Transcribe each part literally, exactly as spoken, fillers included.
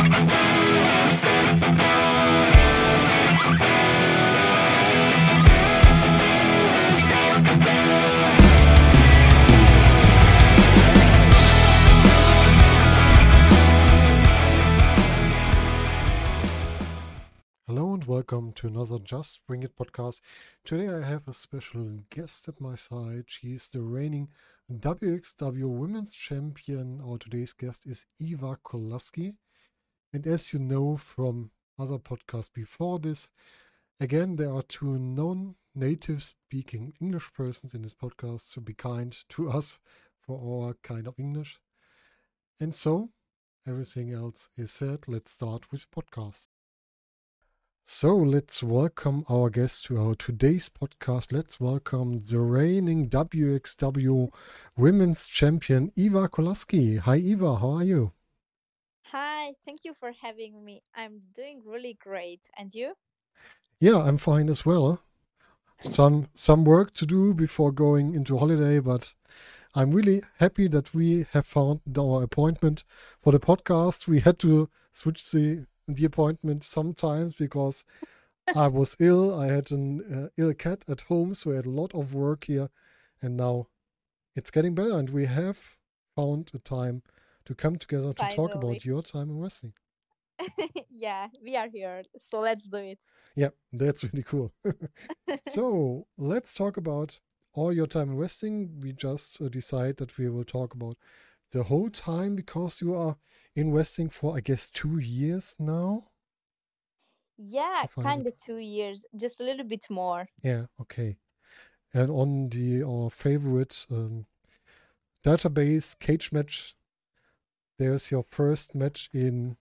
Hello and welcome to another Just Bring It podcast. Today I have a special guest at my side. She's the reigning W X W Women's Champion. Our today's guest is Eva Kolaski. And as you know from other podcasts before this, again, there are two non-native speaking English persons in this podcast, so be kind to us for our kind of English. And so, everything else is said. Let's start with podcast. So let's welcome our guest to our today's podcast. Let's welcome the reigning W X W Women's Champion, Eva Kolaski. Hi, Eva. How are you? Hi, thank you for having me. I'm doing really great. And you? Yeah, I'm fine as well. Some some work to do before going into holiday, but I'm really happy that we have found our appointment for the podcast. We had to switch the the appointment sometimes because I was ill. I had an uh, ill cat at home, so I had a lot of work here, and now it's getting better, and we have found a time to come together to talk Finally. about your time in wrestling. Yeah, we are here. So let's do it. Yeah, that's really cool. So let's talk about all your time in wrestling. We just uh, decide that we will talk about the whole time because you are in wrestling for, I guess, two years now. Yeah, If I kind rec- of two years, just a little bit more. Yeah, okay. And on the our favorite um, database cage match, there's your first match in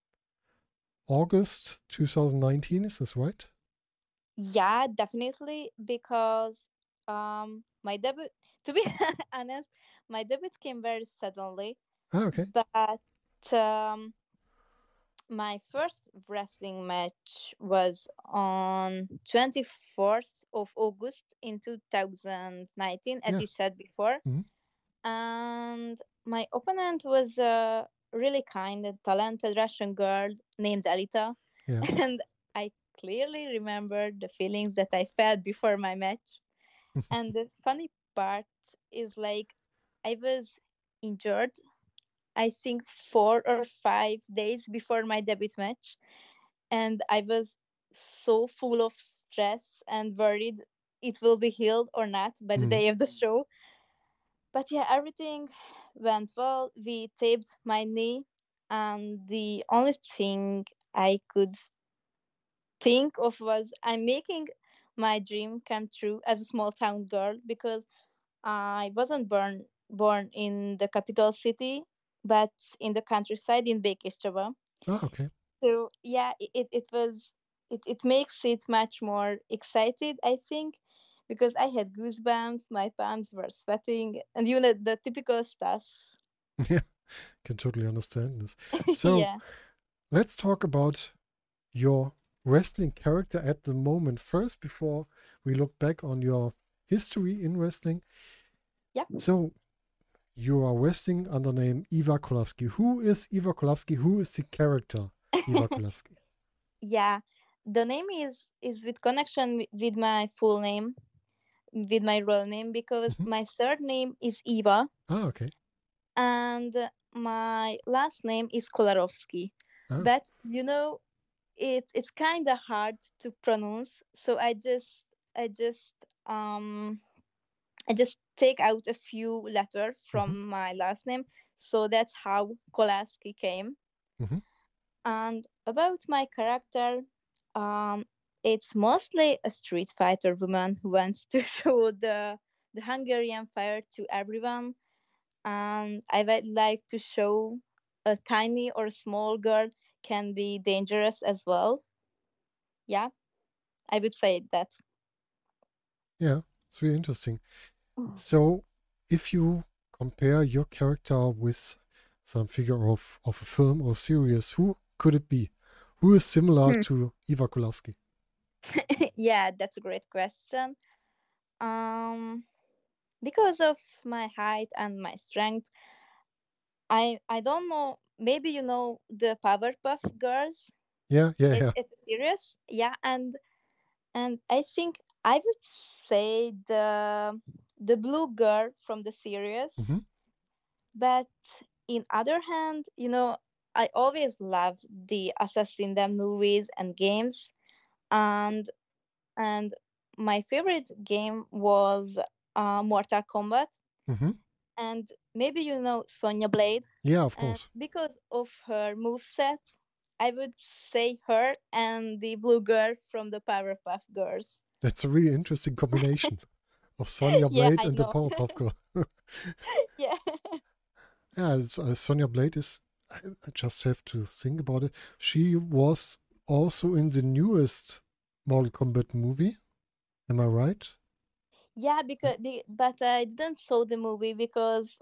August twenty nineteen. Is this right? Yeah, definitely, because um my debut, to be honest, my debut came very suddenly, Ah, okay. but um my first wrestling match was on twenty-fourth of August in two thousand nineteen, as Yeah. you said before. Mhm. And my opponent was a really kind and talented Russian girl named Alita. Yeah. And I clearly remember the feelings that I felt before my match. And the funny part is like I was injured, I think four or five days before my debut match. And I was so full of stress and worried it will be healed or not by the Mhm. day of the show. But yeah, everything went well. We taped my knee, and the only thing I could think of was I'm making my dream come true as a small town girl, because I wasn't born born in the capital city, but in the countryside in Békéscsaba. Ah, okay. So yeah, it, it, it was it, it makes it much more excited, I think, because I had goosebumps, my palms were sweating, and you know the typical stuff. Yeah, can totally understand this. So Yeah. let's talk about your wrestling character at the moment first before we look back on your history in wrestling. Yeah. So you are wrestling under the name Eva Kolaski. Who is Eva Kolaski? Who is the character Eva Kolaski? Yeah. The name is is with connection wi- with my full name, with my real name, because Mhm. my third name is Eva Ah, okay. and my last name is Kolarovsky. Ah, But you know, it it's kind of hard to pronounce, so I just I just um I just take out a few letters mhm, from my last name, so that's how Kolaski came. mhm. And about my character, um, it's mostly a street fighter woman who wants to show the the Hungarian fire to everyone. And I would like to show a tiny or small girl can be dangerous as well. Yeah, I would say that. Yeah, it's really interesting. So if you compare your character with some figure of, of a film or series, who could it be? Who is similar Hmm. to Eva Kolaski? Yeah, that's a great question. Um, because of my height and my strength, I I don't know. maybe you know the Powerpuff Girls. Yeah, yeah, It, yeah. it's a series, yeah, and and I think I would say the the blue girl from the series. Hmm. But in other hand, you know, I always loved the Assassin movies and games, and and my favorite game was uh, Mortal Kombat. Hmm. And maybe you know Sonya Blade, Yeah, of and course. because of her moveset, I would say her and the blue girl from the Powerpuff Girls. That's a really interesting combination of Sonya Yeah, Blade I and the know. Powerpuff Girl. Yeah. Yeah, it's, uh, Sonya Blade is. I, I just have to think about it. She was also in the newest Mortal Kombat movie. Am I right? Yeah, because be, but I didn't saw the movie because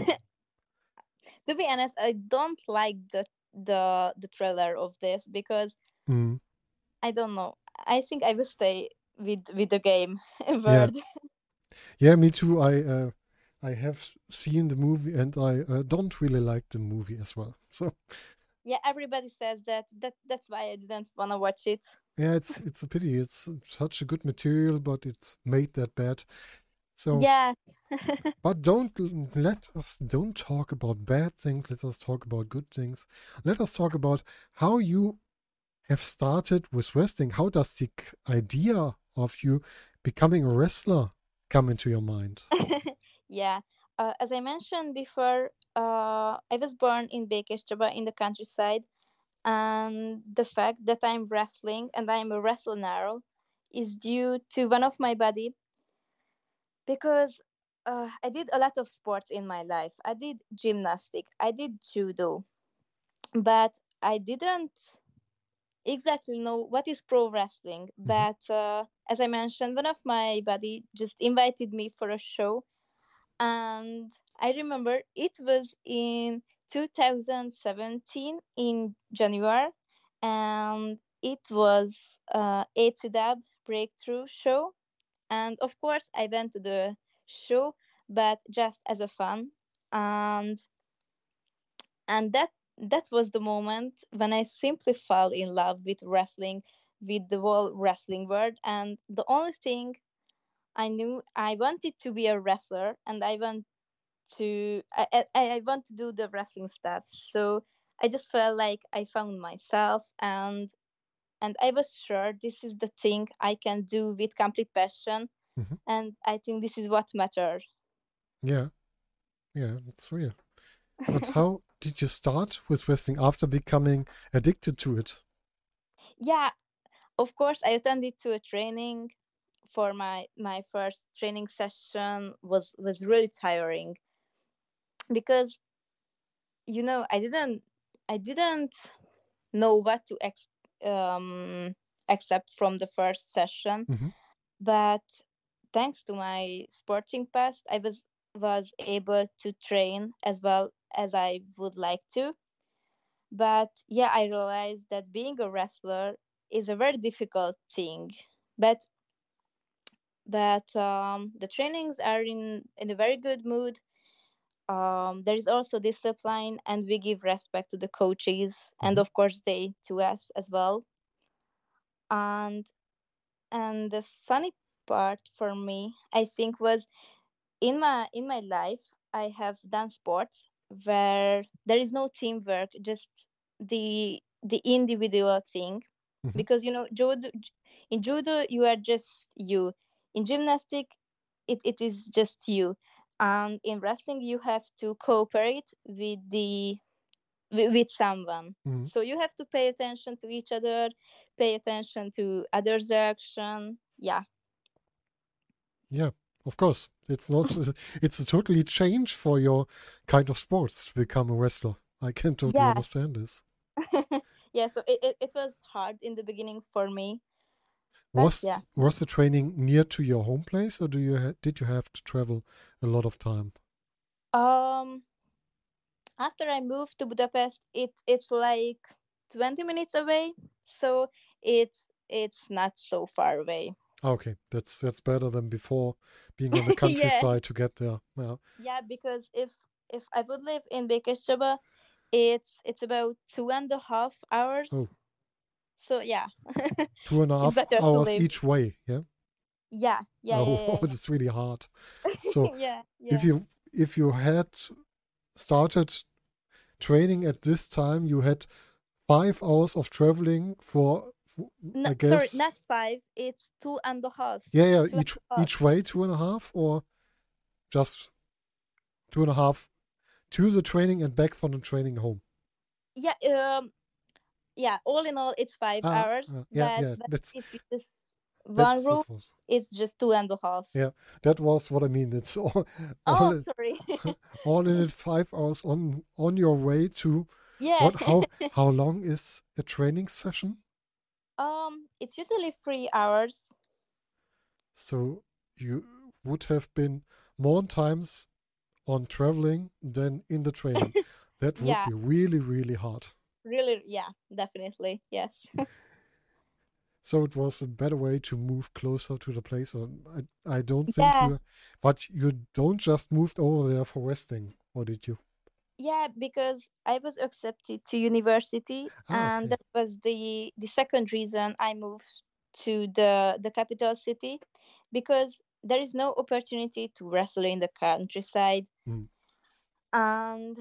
to be honest, I don't like the the the trailer of this because Mm, I don't know. I think I will stay with with the game yeah, word. yeah, me too. I uh, I have seen the movie and I uh, don't really like the movie as well. So Yeah, everybody says that. That that's why I didn't wanna watch it. yeah, it's it's a pity. It's such a good material, but it's made that bad. So, Yeah. but don't l- let us don't talk about bad things. Let us talk about good things. Let us talk about how you have started with wrestling. How does the c- idea of you becoming a wrestler come into your mind? Yeah. Uh, as I mentioned before, uh, I was born in Békéscsaba in the countryside, and the fact that I'm wrestling and I'm a wrestler now is due to one of my buddy because uh, I did a lot of sports in my life. I did gymnastic, I did judo, but I didn't exactly know what is pro wrestling. Hmm. But uh, as I mentioned, one of my buddy just invited me for a show, and I remember it was in two thousand seventeen in January, and it was uh, A T D A B Breakthrough Show, and of course I went to the show, but just as a fun, and and that that was the moment when I simply fell in love with wrestling, with the whole wrestling world, and the only thing I knew I wanted to be a wrestler, and I want to I, I, I want to do the wrestling stuff. So I just felt like I found myself, and and I was sure this is the thing I can do with complete passion, Hmm. and I think this is what matters. Yeah, yeah, it's real. But how did you start with wrestling after becoming addicted to it? Yeah, of course I attended to a training. For my my first training session was was really tiring because you know I didn't I didn't know what to ex- um, accept from the first session. Hmm. But thanks to my sporting past, I was was able to train as well as I would like to. But yeah, I realized that being a wrestler is a very difficult thing. But but um, the trainings are in in a very good mood. Um, there is also discipline, and we give respect to the coaches, and Hmm. of course they to us as well. And and the funny part for me, I think, was in my in my life I have done sports where there is no teamwork, just the the individual thing. Hmm. Because you know judo, in judo you are just you. In gymnastic it, it is just you, and in wrestling you have to cooperate with the with, with someone. Hmm. So you have to pay attention to each other, pay attention to others reaction. Yeah. Yeah, of course. It's not, it's a totally change for your kind of sports to become a wrestler. I can totally Yeah. understand this. Yeah, so it, it, it was hard in the beginning for me, but yeah. Was was the training near to your home place, or do you ha did you have to travel a lot of time? Um, after I moved to Budapest, it it's like twenty minutes away, so it's it's not so far away. Okay, that's that's better than before being on the Yeah, countryside to get there. Yeah. yeah, because if if I would live in Békéscsaba, It's it's about two and a half hours. Oh, So yeah, two and a it's half better to hours live. each way. Yeah. Yeah, yeah, Oh, yeah, it's really hard. So yeah, if yeah. you if you had started training at this time, you had five hours of traveling for, for No, I sorry, guess. not five. It's two and a half. Yeah, yeah. Two and Each a half. each way two and a half, or just two and a half to the training and back from the training home. Yeah, um, yeah. All in all, it's five Ah, hours. ah, yeah, But yeah. but That's if you just one that's route, that was it's just two and a half. yeah. That was what I mean. It's all all Oh, in, sorry. all in it. Five hours on on your way to Yeah. what? How how long is a training session? Um, it's usually three hours. So you would have been more times on traveling than in the training. That would Yeah, be really, really hard. really. Yeah, definitely. Yes. So it was a better way to move closer to the place. Or I, I don't think Yeah, you, but you don't just moved over there for resting, or did you? yeah. Because I was accepted to university, Ah, and okay. that was the the second reason I moved to the the capital city, because there is no opportunity to wrestle in the countryside, Mm. and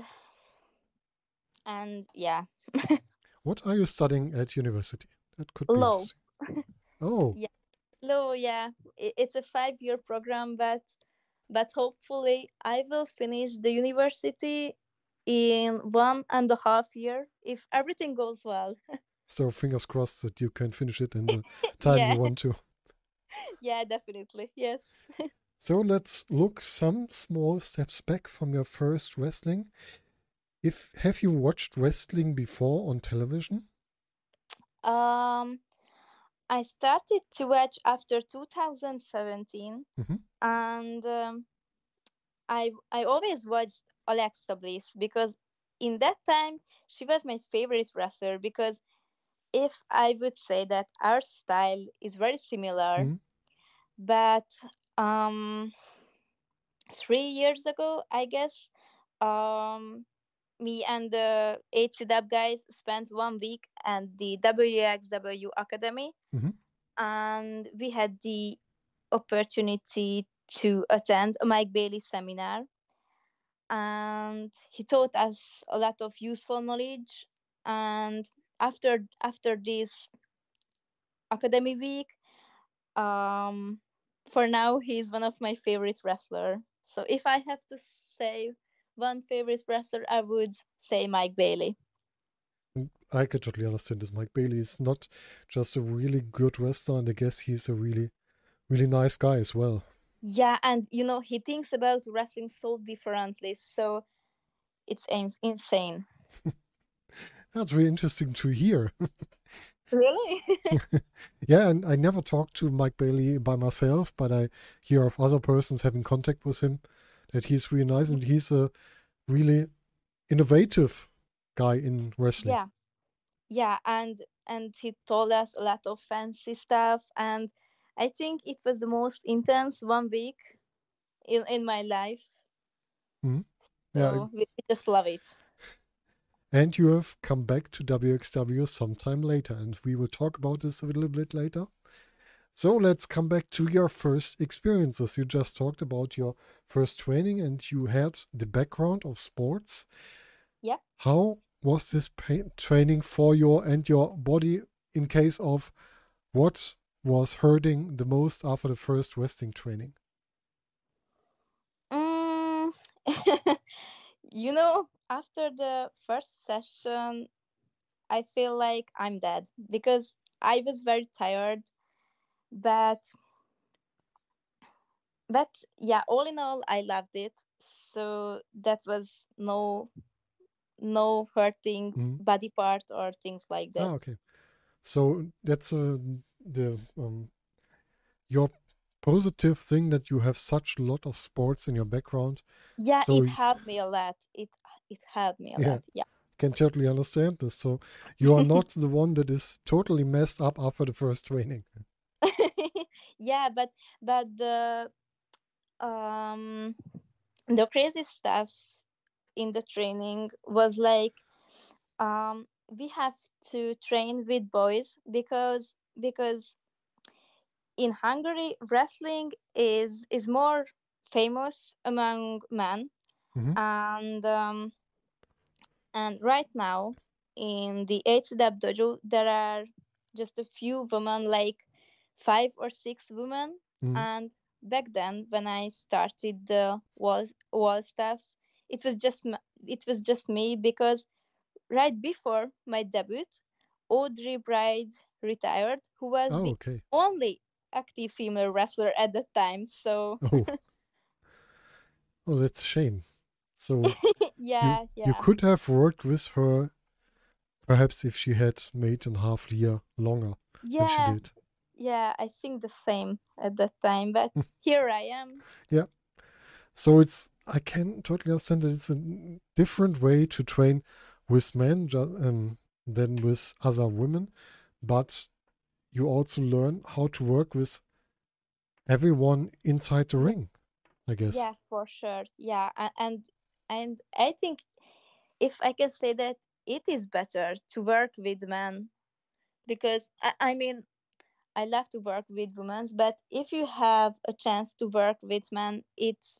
and yeah, What are you studying at university? That could be low. interesting. Oh, Yeah, low. Yeah, I- it's a five year program, but but hopefully I will finish the university in one and a half year if everything goes well. so fingers crossed that you can finish it in the time you Yeah, want to. yeah, definitely. Yes. So let's look some small steps back from your first wrestling. If have you watched wrestling before on television? Um, I started to watch after two thousand seventeen, Hmm. and um, I I always watched Alexa Bliss because in that time she was my favorite wrestler, because if I would say that our style is very similar, Hmm. but um three years ago, I guess, um me and the H C W guys spent one week at the W X W Academy, Hmm. and we had the opportunity to attend a Mike Bailey seminar, and he taught us a lot of useful knowledge. And after after this academy week, um, for now he's one of my favorite wrestler. So if I have to say one favorite wrestler, I would say Mike Bailey. I can totally understand this. Mike Bailey is not just a really good wrestler, and I guess he's a really, really nice guy as well. Yeah, and you know he thinks about wrestling so differently, so it's in- insane. That's really interesting to hear. Really? Yeah, and I never talked to Mike Bailey by myself, but I hear of other persons having contact with him that he's really nice and he's a really innovative guy in wrestling. Yeah, yeah, and and he told us a lot of fancy stuff, and I think it was the most intense one week in in my life. Mhm. Yeah, So we we just love it. and you have come back to W X W sometime later, and we will talk about this a little bit later. So let's come back to your first experiences. You just talked about your first training and you had the background of sports. Yeah. How was this pa- training for your and your body in case of what was hurting the most after the first wrestling training? Mm, you know, after the first session, I feel like I'm dead because I was very tired. But but yeah, all in all, I loved it. So that was no no hurting Mhm. body part or things like Ah, that. okay. So that's uh, the um, your positive thing that you have such a lot of sports in your background. Yeah, So it helped me a lot. It it helped me a yeah, lot. Yeah. can totally understand this. So you are not the one that is totally messed up after the first training. Yeah, but but the um the crazy stuff in the training was like um, we have to train with boys because because in Hungary wrestling is is more famous among men, Hmm. and um, and right now in the H C W dojo there are just a few women, like five or six women, Hmm. and back then when I started the wall wall stuff, it was just m- it was just me because right before my debut, Audrey Bride retired, who was Oh, the okay. only active female wrestler at that time. So Oh, oh, that's a shame. So you yeah, you yeah, could have worked with her, perhaps if she had made a half year longer than she yeah, did. yeah. I think the same at that time, but here I am. Yeah. So it's I can totally understand that it's a different way to train with men ju- um, than with other women, but you also learn how to work with everyone inside the ring, I guess. Yeah, for sure. Yeah, a- and and I think if I can say that it is better to work with men because I, I mean I love to work with women, but if you have a chance to work with men, it's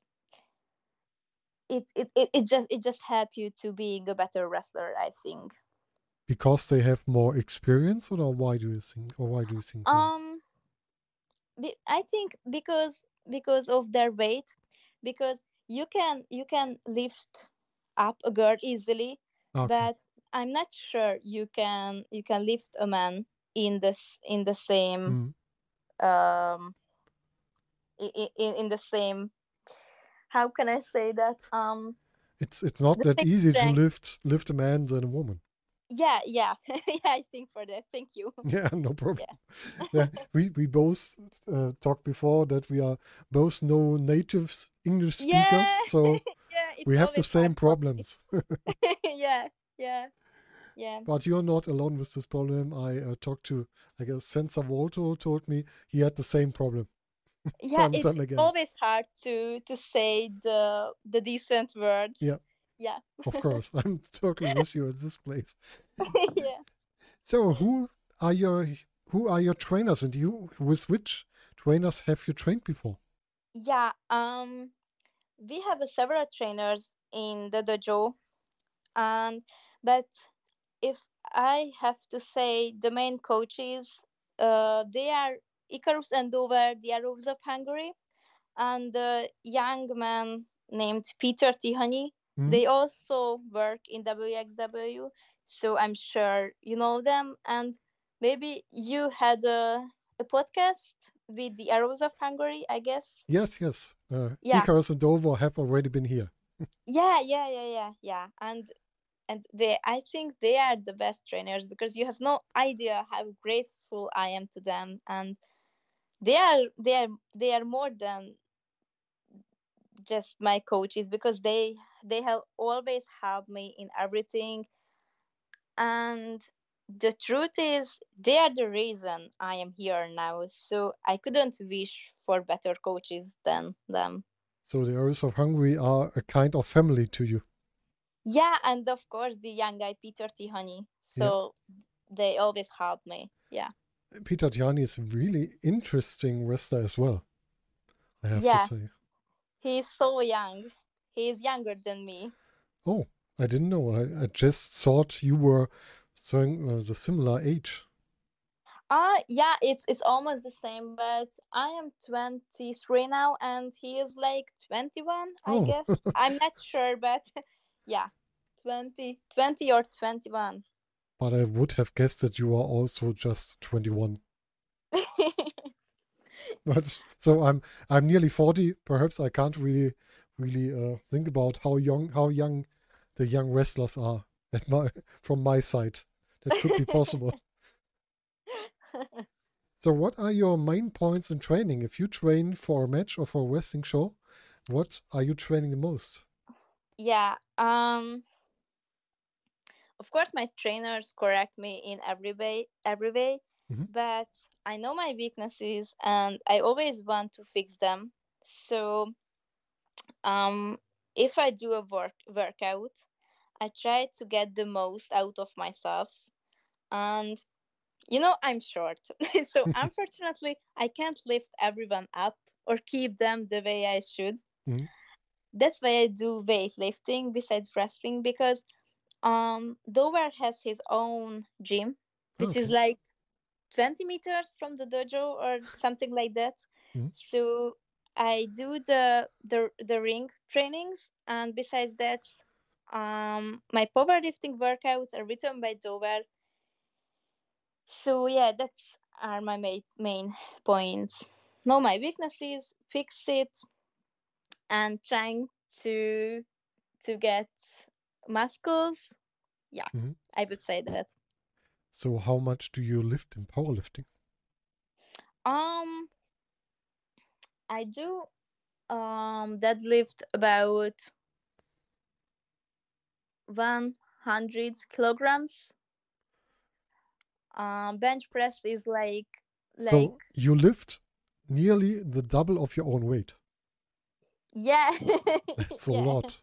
it it, it, it just it just help you to being a better wrestler, I think. Because they have more experience, or why do you think, or why do you think so? Um, be- I think because because of their weight, because you can you can lift up a girl easily, Okay. but I'm not sure you can you can lift a man in this in the same Mm. um in, in, in the same, how can I say that, um It's it's not the that same easy to strength. lift lift a man than a woman. Yeah, yeah. Yeah, I think for that. Thank you. Yeah, no problem. Yeah. Yeah, we we both uh, talked before that we are both no native English speakers, Yeah. so Yeah, it's we have the always hard same for me. problems. Yeah, yeah, yeah. But you're not alone with this problem. I uh, talked to, I guess, Sensor Volto told me he had the same problem Yeah, time and it's time again. always hard to to say the the decent words. Yeah, Yeah. of course. I'm totally with you at this place. Yeah. So who are your who are your trainers, and you with which trainers have you trained before? Yeah, um we have uh, several trainers in the dojo, and but if I have to say the main coaches, uh they are Icarus and Dover, the Arrows of Hungary, and a young man named Peter Tihany. Hmm? They also work in W X W, so I'm sure you know them. And maybe you had a, a podcast with the Arrows of Hungary, I guess. Yes, yes. Uh, Yeah, Icarus and Dover have already been here. yeah, yeah, yeah, yeah, yeah. And and they, I think they are the best trainers because you have no idea how grateful I am to them, and they are they are they are more than just my coaches because they they have always helped me in everything, and the truth is they are the reason I am here now, so I couldn't wish for better coaches than them. So the Arrows of Hungary are a kind of family to you. Yeah, and of course the young guy Peter Tihany, Yeah. so they always help me. Yeah, Peter Tiani is a really interesting wrestler as well, I have to yeah, say. he's so young, he's younger than me. Oh, I didn't know. I, I just thought you were showing uh, the similar age. Uh yeah, it's it's almost the same, but I am twenty-three now and he is like twenty-one, I Oh, guess. I'm not sure, but yeah, twenty, twenty or twenty-one. but I would have guessed that you are also just twenty-one. But so I'm I'm nearly forty. Perhaps I can't really really uh, think about how young how young the young wrestlers are at my from my side. That could be possible. So what are your main points in training? If you train for a match or for a wrestling show, what are you training the most? Yeah, um of course my trainers correct me in every way every way, Hmm. but I know my weaknesses and I always want to fix them. So um if I do a work workout, I try to get the most out of myself. And you know, I'm short. So unfortunately, I can't lift everyone up or keep them the way I should. Mhm. That's why I do weightlifting besides wrestling, because um Dover has his own gym, which is Okay. like twenty meters from the dojo or something like that. Mhm. So I do the the the ring trainings, and besides that, um my powerlifting workouts are written by Dover. So yeah, that's are my main main points. Know my weaknesses, fix it, and trying to to get muscles. Yeah, Mhm. I would say that. So how much do you lift in powerlifting? Um, I do um deadlift about one hundred kilograms. Um, bench press is like like So you lift nearly the double of your own weight. yeah, That's a yeah. lot.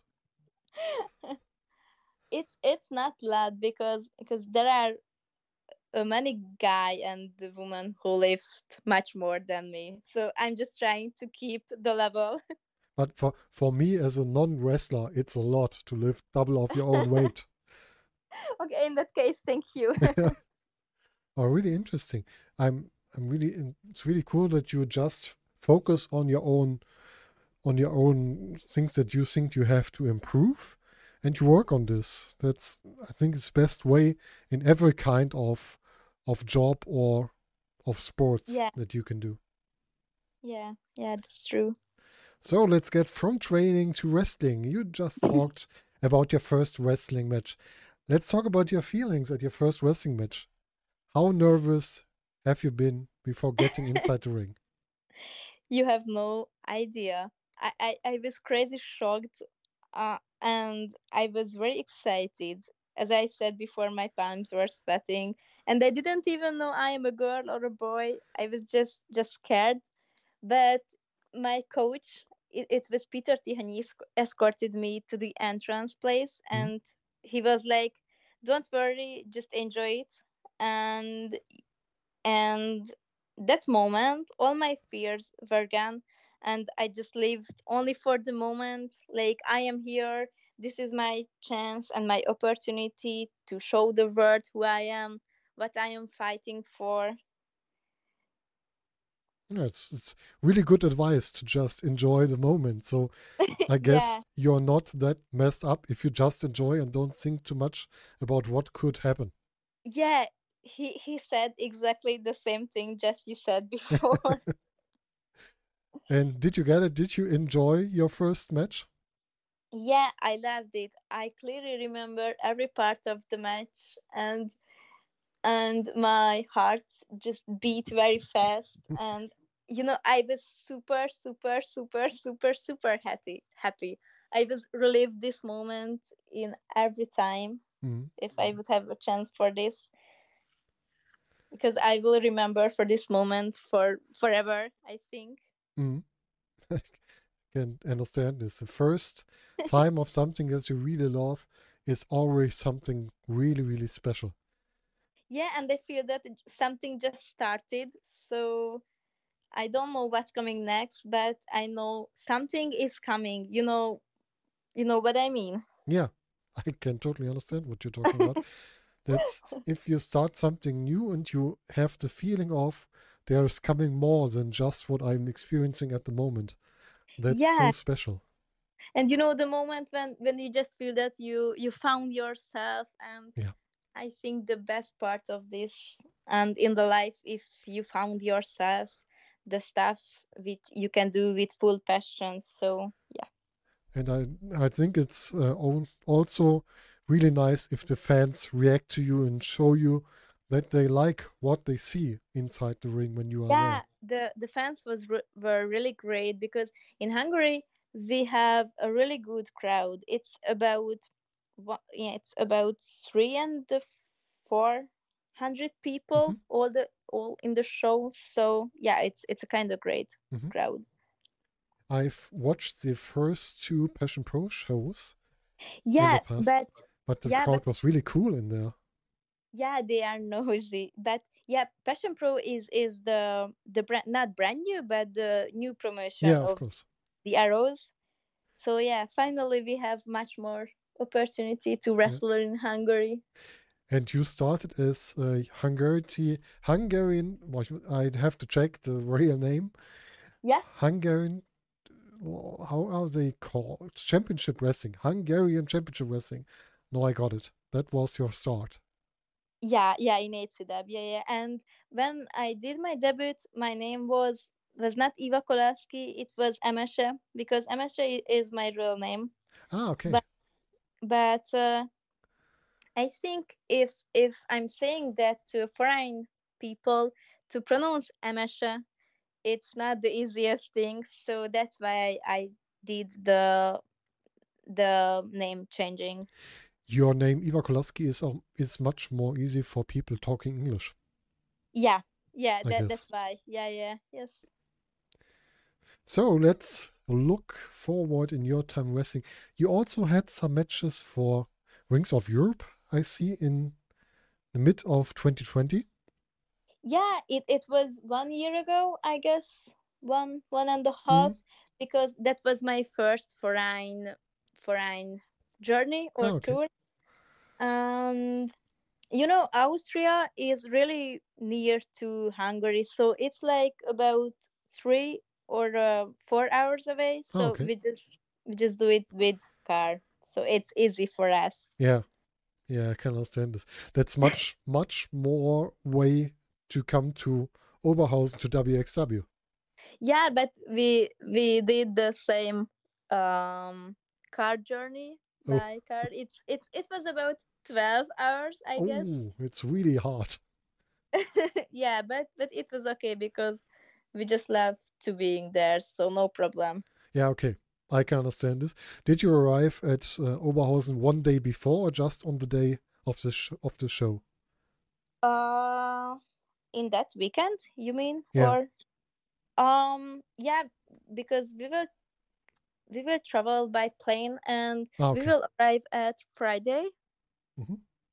It's it's not loud because because there are uh, many guy and the woman who lift much more than me. So I'm just trying to keep the level. But for, for me as a non-wrestler, it's a lot to lift double of your own weight. Okay, in that case, thank you. Oh, really interesting. I'm I'm really in, it's really cool that you just focus on your own on your own things that you think you have to improve and you work on this. That's I think it's best way in every kind of of job or of sports Yeah, that you can do. yeah, yeah, that's true. So let's get from training to wrestling. You just talked about your first wrestling match. Let's talk about your feelings at your first wrestling match. How nervous have you been before getting inside the ring? You have no idea. I, I, I was crazy shocked, uh, and I was very excited. As I said before, my palms were sweating, and I didn't even know I am a girl or a boy. I was just just scared. But my coach, it, it was Peter Tihany, esc- escorted me to the entrance place, Hmm? and he was like, "Don't worry, just enjoy it." And and that moment, all my fears were gone, and I just lived only for the moment. Like, I am here. This is my chance and my opportunity to show the world who I am, what I am fighting for. Yeah, it's it's really good advice to just enjoy the moment. So I guess Yeah, you're not that messed up if you just enjoy and don't think too much about what could happen. yeah. He he said exactly the same thing just you said before. And did you get it? Did you enjoy your first match? Yeah, I loved it. I clearly remember every part of the match, and and my heart just beat very fast, and you know, I was super super super super super happy happy. I was relieved this moment in every time Mhm. if I would have a chance for this, because I will remember for this moment for forever, I think. Mhm. I can understand this. The first time of something that you really love is always something really, really special. Yeah, and I feel that it- something just started, so I don't know what's coming next, but I know something is coming. You know, you know what I mean. Yeah, I can totally understand what you're talking about. That's if you start something new and you have the feeling of there's coming more than just what I'm experiencing at the moment. That's so Yeah, special. and you know the moment when when you just feel that you you found yourself, and Yeah. I think the best part of this and in the life, if you found yourself, the stuff with you can do with full passion. So yeah. And I I think it's uh, al- also really nice if the fans react to you and show you that they like what they see inside the ring when you are there. Yeah, the the fans was re- were really great, because in Hungary we have a really good crowd. It's about what yeah, it's about three and the four hundred Hmm. people all the all in the show. So yeah, it's it's a kind of great Hmm. crowd. I've watched the first two Passion Pro shows in the Yeah, past. but But the Yeah, crowd but was really cool in there. yeah, they are noisy. But yeah, Passion Pro is is the the brand, not brand new, but the new promotion Yeah, of of course. the Arrows. So yeah, finally we have much more opportunity to Yeah. wrestle in Hungary. And you started as a Hungarian, Hungarian, what you- I'd have to check the real name. Yeah. Hungarian, oh, how are they called? Championship Wrestling. Hungarian Championship Wrestling. No, I got it. That was your start. Yeah, yeah, in H C W, yeah, yeah. And when I did my debut, my name was was not Eva Kolaski, it was Emeshe, because Emeshe is my real name. Ah, okay. But but uh, I think if if I'm saying that to foreign people to pronounce Emeshe, it's not the easiest thing. So that's why I, I did the the name changing. Your name, Iva Kolaski, is, um, is much more easy for people talking English, Yeah, yeah, I that guess. that's why. Yeah, yeah, yes. So let's look forward in your time wrestling. You also had some matches for Rings of Europe, I see, in the mid of twenty twenty. Yeah, it, it was one year ago, I guess, one one and a Mm. half, because that was my first foreign foreign journey Ah, or okay. tour. And you know, Austria is really near to Hungary, so it's like about three or uh, four hours away. Ah, So okay. we just we just do it with car, so it's easy for us. Yeah, yeah, I can understand this. That's much, much more way to come to Oberhausen to W X W. Yeah, but we we did the same um car journey Oh, by car. It's it's it was about twelve hours, I guess. oh, it's really hard. Yeah, but but it was okay because we just love to being there, so no problem. Yeah, okay. I can understand this. Did you arrive at uh, Oberhausen one day before or just on the day of the sh- of the show? Uh, in that weekend, you mean? Yeah. Or um, yeah, because we will we will travel by plane and Ah, we okay. will arrive at Friday. Hmm.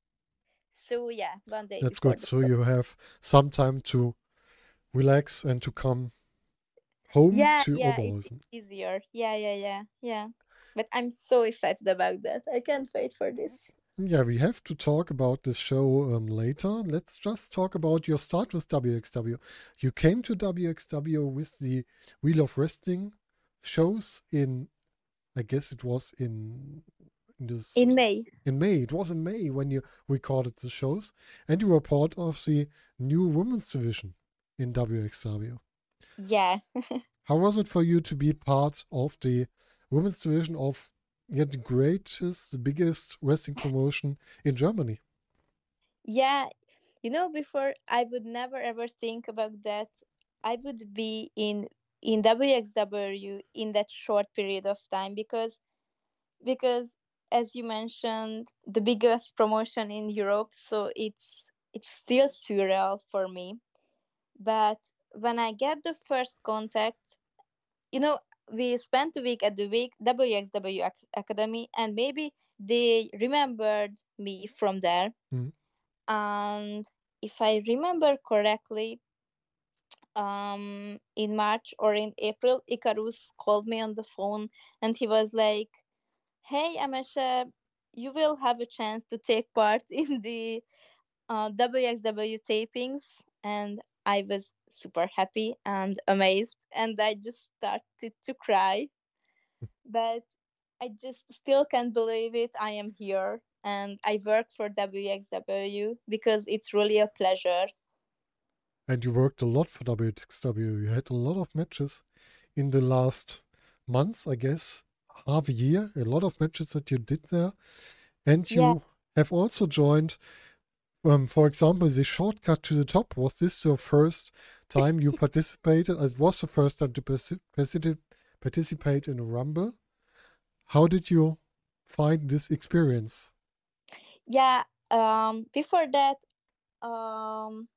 So yeah, one day That's before good. the So show. you have some time to relax and to come home Yeah, to yeah, it's Oberhausen. easier. Yeah, yeah, yeah, yeah. But I'm so excited about that. I can't wait for this. Yeah, we have to talk about the show um, later. Let's just talk about your start with W X W. You came to W X W with the Wheel of Wrestling shows in, I guess it was in, in this In May. in May. It was in May when you recorded the shows, and you were part of the new women's division in W X W. Yeah. How was it for you to be part of the women's division of yeah, the greatest, the biggest wrestling promotion in Germany? Yeah, you know, before I would never ever think about that. I would be in in W X W in that short period of time because because as you mentioned, the biggest promotion in Europe, so it's it's still surreal for me. But when I get the first contact, you know, we spent a week at the week W X W Ac- Academy, and maybe they remembered me from there. Mm. And if I remember correctly, um, in March or in April, Icarus called me on the phone, and he was like, "Hey, Amesha, you will have a chance to take part in the uh, W X W tapings," and I was super happy and amazed, and I just started to cry. But I just still can't believe it. I am here and I work for W X W because it's really a pleasure. And you worked a lot for W X W. You had a lot of matches in the last months, I guess, half a year. A lot of matches that you did there. And Yeah, you have also joined, um, for example, the Shortcut to the Top. Was this your first time you participated? It was the first time to partic- particip- participate in a Rumble. How did you find this experience? yeah. Um, before that, um,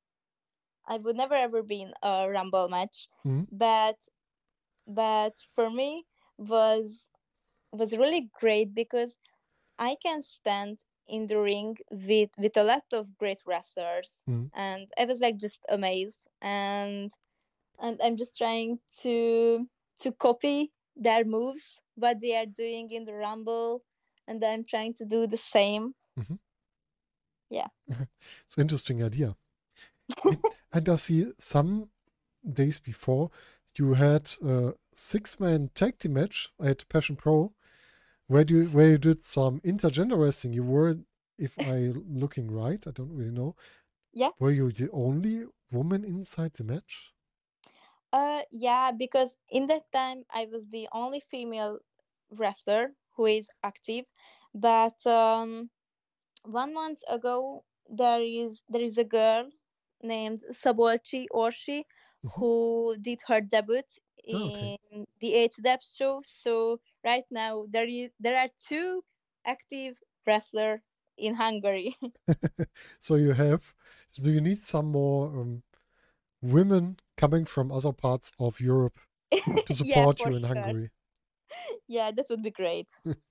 I would never ever been a Rumble match, Mhm. but but for me was was really great because I can stand in the ring with with a lot of great wrestlers, Mm. and I was like just amazed, and and I'm just trying to to copy their moves, what they are doing in the Rumble, and I'm trying to do the same. Mhm. Yeah. It's an interesting idea. And, and I see some days before you had a six-man tag team match at Passion Pro where you where you did some intergender wrestling. You were, if I looking right, I don't really know. Yeah. Were you the only woman inside the match? Uh, yeah, because in that time I was the only female wrestler who is active, but um, one month ago there is there is a girl named Sabolchi Orshi Mhm. who did her debut Oh, okay. in the H D E P show. So right now there is there are two active wrestler in Hungary. So you have, do you need some more um, women coming from other parts of Europe to Yeah, support for you in sure. Hungary? Yeah, that would be great.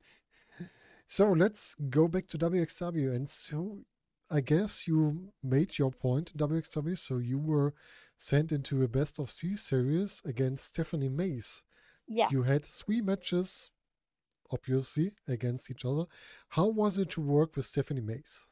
So let's go back to W X W. And so I guess you made your point in W X W. So you were sent into a best of three series against Stephanie Mays. Yeah. You had three matches, obviously, against each other. How was it to work with Stephanie Mays?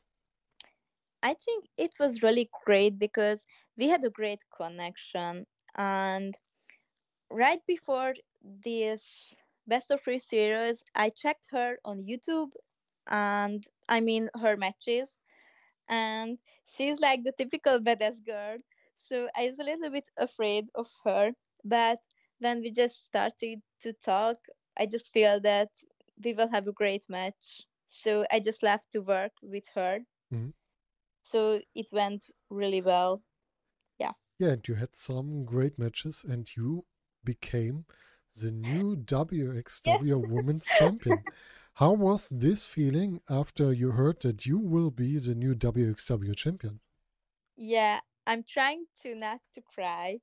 I think it was really great because we had a great connection. And right before this best of three series, I checked her on YouTube and I mean her matches. And she's like the typical badass girl. So I was a little bit afraid of her. But when we just started to talk, I just feel that we will have a great match. So I just left to work with her. Mhm. So it went really well. Yeah. Yeah, and you had some great matches, and you became the new Yes. W X W Women's Champion. How was this feeling after you heard that you will be the new W X W champion? Yeah, I'm trying to not to cry,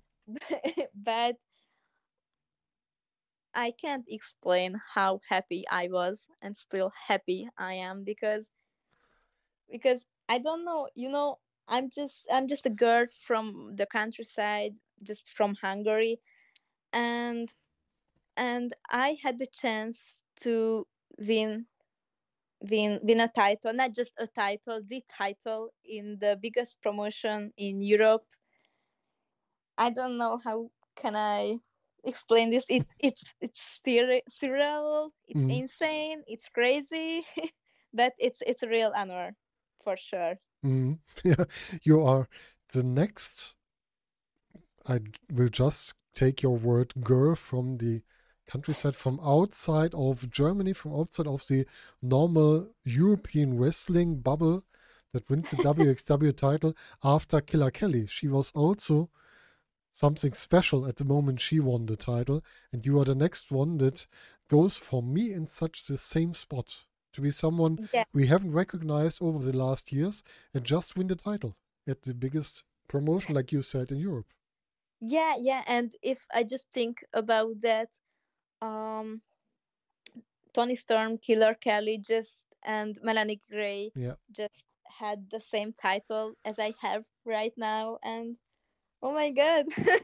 but I can't explain how happy I was and still happy I am because because I don't know, you know, I'm just I'm just a girl from the countryside, just from Hungary, and and I had the chance to win win win a title, not just a title, the title in the biggest promotion in Europe. I don't know how can I explain this. It's it's it's surre- surreal. It's Mm, insane. It's crazy, but it's it's a real honor, for sure. mm. Yeah, you are the next. I will just take your word girl from the countryside, from outside of Germany, from outside of the normal European wrestling bubble that wins the W X W title after Killer Kelly. She was also something special at the moment she won the title, and you are the next one that goes for me in such the same spot to be someone Yeah, we haven't recognized over the last years and just win the title at the biggest promotion, like you said, in Europe. yeah, yeah. And if I just think about that, um, Tony Storm, Killer Kelly, just and Melanie Gray Yeah. just had the same title as I have right now, and oh my god,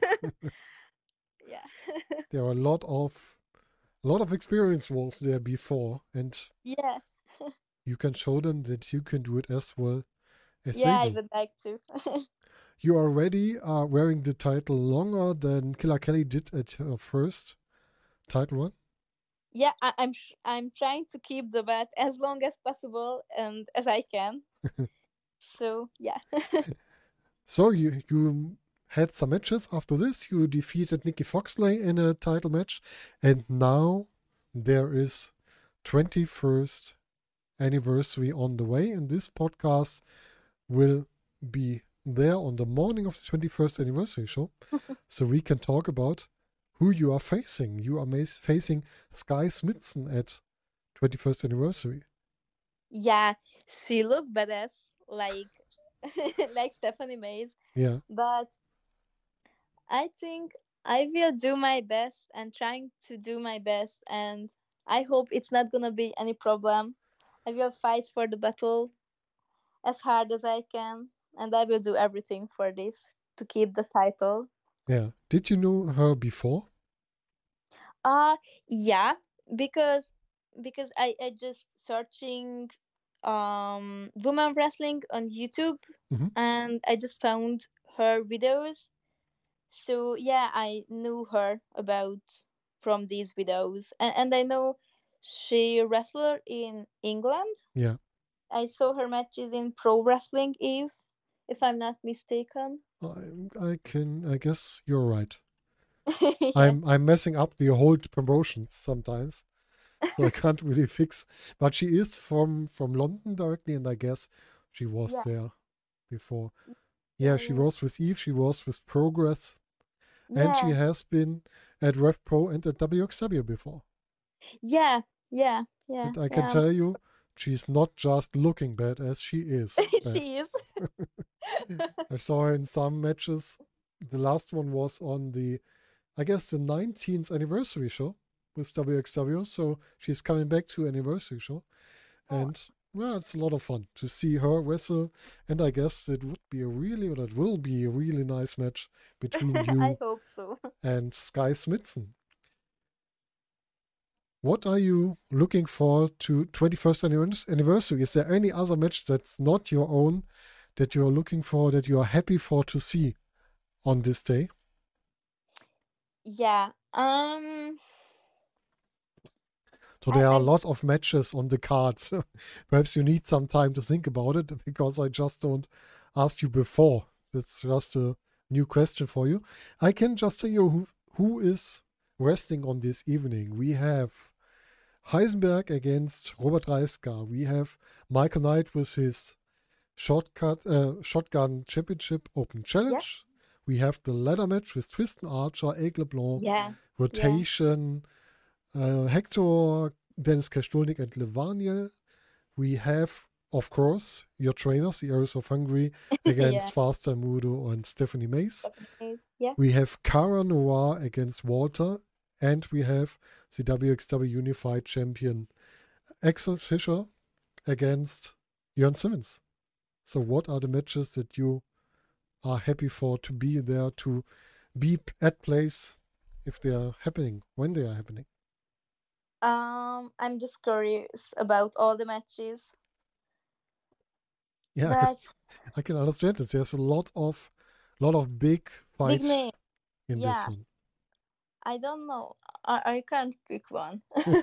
yeah, There are a lot of a lot of experience was there before, and yeah, you can show them that you can do it as well as yeah. they I do. would like to. You already are wearing the title longer than Killer Kelly did at her first title run. Yeah, I, I'm sh- I'm trying to keep the bet as long as possible and as I can. So yeah, So you you had some matches after this. You defeated Nikki Foxley in a title match, and now there is twenty-first anniversary on the way, and this podcast will be there on the morning of the twenty-first anniversary show, so we can talk about who you are facing. You are mas- facing Sky Smithson at twenty-first anniversary. yeah. She looked badass, like like Stephanie Mays, Yeah. but I think I will do my best and trying to do my best, and I hope it's not gonna be any problem. I will fight for the battle as hard as I can, and I will do everything for this to keep the title. Yeah. Did you know her before? Uh yeah, because because I I just searching um women wrestling on YouTube, hmm and I just found her videos. So yeah, I knew her about from these videos, and, and I know she wrestler in England. Yeah. I saw her matches in Pro Wrestling Eve, if I'm not mistaken. I, I can. I guess you're right. Yeah, I'm I'm messing up the whole promotions sometimes, so I can't really fix. But she is from from London directly, and I guess she was yeah, there before. Yeah, yeah, she yeah, was with Eve. She was with Progress, and she yeah, has been at Rev Pro and at W X W before. yeah, yeah, yeah, And I can yeah. tell you, she's not just looking bad as she is bad. She is. I saw her in some matches. The last one was on the, I guess, the nineteenth anniversary show with W X W. So she's coming back to anniversary show. Oh, And well, it's a lot of fun to see her wrestle. And I guess it would be a really, or it will be a really nice match between I you hope so. and Sky Smithson. What are you looking for to twenty-first anniversary? Is there any other match that's not your own that you're looking for, that you are happy for to see on this day? Yeah. Um. So I there are a I lot of matches on the cards. Perhaps you need some time to think about it because I just don't ask you before. That's just a new question for you. I can just tell you who, who is resting on this evening. We have Heisenberg against Robert Reiska. We have Michael Knight with his shortcut, uh, Shotgun Championship Open yeah, Challenge. We have the ladder match with Tristan Archer, Aigle LeBlanc, yeah, yeah. Rotation, uh, Hector, Dennis Kastulnik, and Levaniel. We have, of course, your trainers, the Aries of Hungary, Yeah. against Faster Mudo and Stephanie Mace. Japanese, yeah. We have Cara Noir against Walter, and we have the W X W Unified Champion Axel Fischer against Jörn Simmons. So, what are the matches that you are happy for to be there, to be at place if they are happening, when they are happening? Um, I'm just curious about all the matches, Yeah, I can, but I can understand this. There's a lot of, lot of big big fights name. in this Yeah, one. I don't know. I I can't pick one.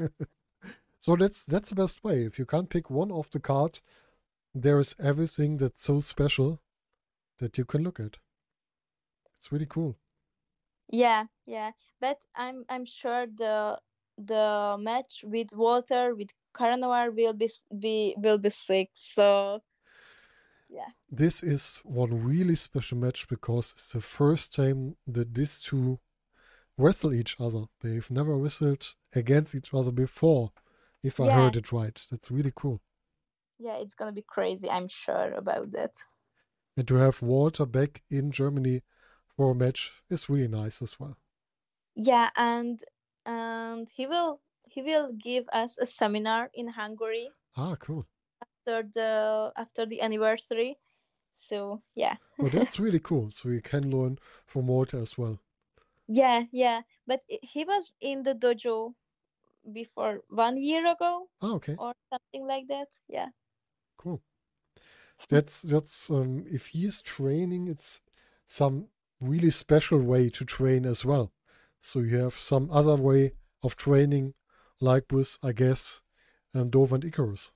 So that's that's the best way. If you can't pick one off the card, there is everything that's so special that you can look at. It's really cool. Yeah, yeah. But I'm I'm sure the the match with Walter with Caranoir will be s- be will be sick. So yeah, This is one really special match because it's the first time that these two wrestle each other. They've never wrestled against each other before, if I yeah, heard it right. That's really cool. yeah. It's gonna be crazy. I'm sure about that. And to have Walter back in Germany for a match is really nice as well. Yeah, and and he will he will give us a seminar in Hungary Ah, cool. after the after the anniversary. So yeah. Well, that's really cool. So you can learn from Walter as well. Yeah, yeah. But i- he was in the dojo before one year ago Ah, okay, or something like that. Yeah. cool. That's that's um, if he is training, it's some really special way to train as well. So you have some other way of training, like with, I guess, um, Dove and Icarus.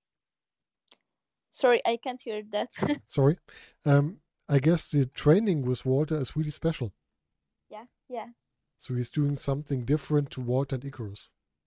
Sorry, I can't hear that. Sorry. Um, I guess the training with Walter is really special. Yeah, yeah. So he's doing something different to Walter and Icarus.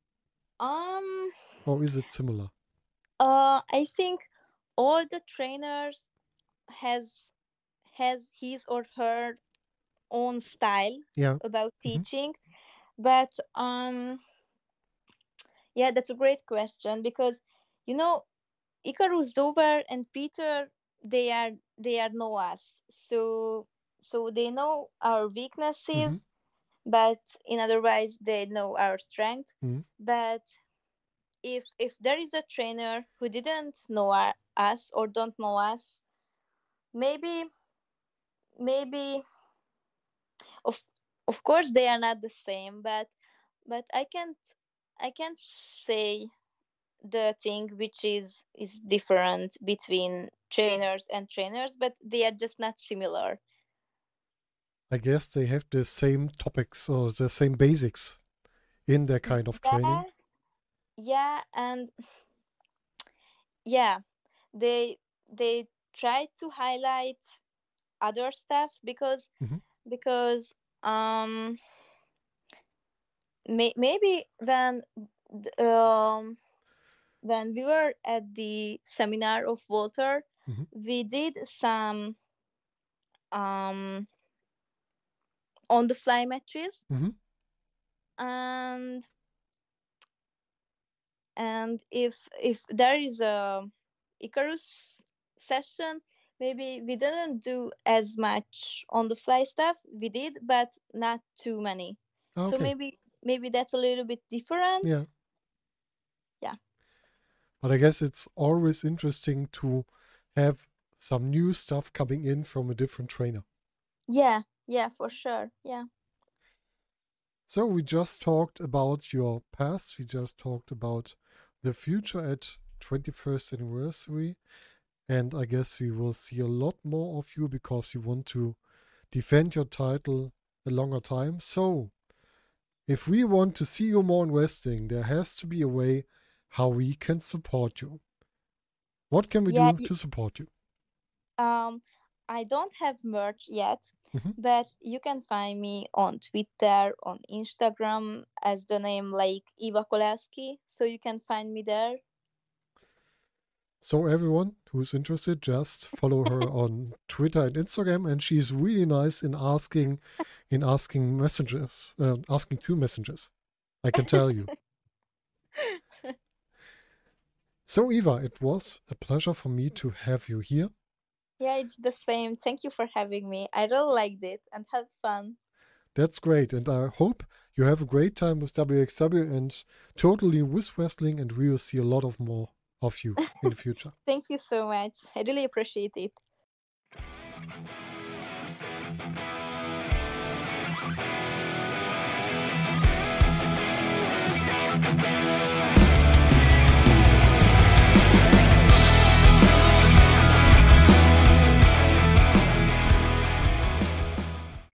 Um Or is it similar? uh I think all the trainers has has his or her own style Yeah. about hmm teaching. But um yeah, that's a great question because you know Icarus Dover and Peter, they are they are know us. So so they know our hmm weaknesses, but in otherwise they know our strength. hmm But if if there is a trainer who didn't know our, us or don't know us, maybe maybe of of course they are not the same, but but I can't I can't say the thing which is is different between trainers and trainers, but they are just not similar. I guess they have the same topics or the same basics in their kind of Yeah, training. yeah, and yeah, they they try to highlight other stuff because Mhm. because um may, maybe when th- um when we were at the seminar of Walter, Mhm. we did some um on the fly matches, Mhm. and and if if there is a Icarus session, maybe we didn't do as much on the fly stuff. We did, but not too many. Ah, So okay. maybe maybe that's a little bit different. Yeah. Yeah. But I guess it's always interesting to have some new stuff coming in from a different trainer. Yeah, yeah, for sure. Yeah. So we just talked about your past. We just talked about the future at twenty-first anniversary. And I guess we will see a lot more of you because you want to defend your title a longer time. So if we want to see you more in wrestling, there has to be a way how we can support you. What can we Yeah, do y- to support you? um I don't have merch yet, Mhm. but you can find me on Twitter, on Instagram as the name like Eva Kolaski, so you can find me there. So everyone who's interested, just follow her on Twitter and Instagram, and she's really nice in asking, in asking messages, uh, asking two messages. I can tell you. So Eva, it was a pleasure for me to have you here. Yeah, it's the same. Thank you for having me. I really liked it and had fun. That's great, and I hope you have a great time with W X W and totally with wrestling, and we will see a lot of more of you in the future. Thank you so much. I really appreciate it.